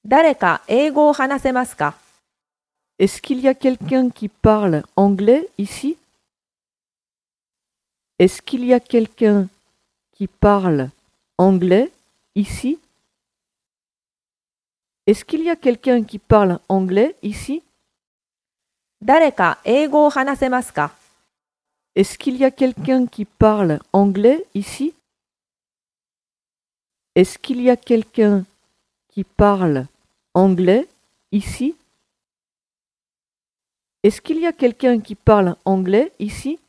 誰か英語を話せますか？ Est-ce qu'il y a quelqu'un qui parle anglais ici? Est-ce qu'il y a quelqu'un qui parle anglais ici? Est-ce qu'il y a quelqu'un qui parle anglais ici? 誰か英語を話せますか？ Est-ce qu'il y a quelqu'un qui parle anglais ici? Est-ce qu'il y a quelqu'un qui parle anglais ici? Est-ce qu'il y a quelqu'un qui parle anglais ici?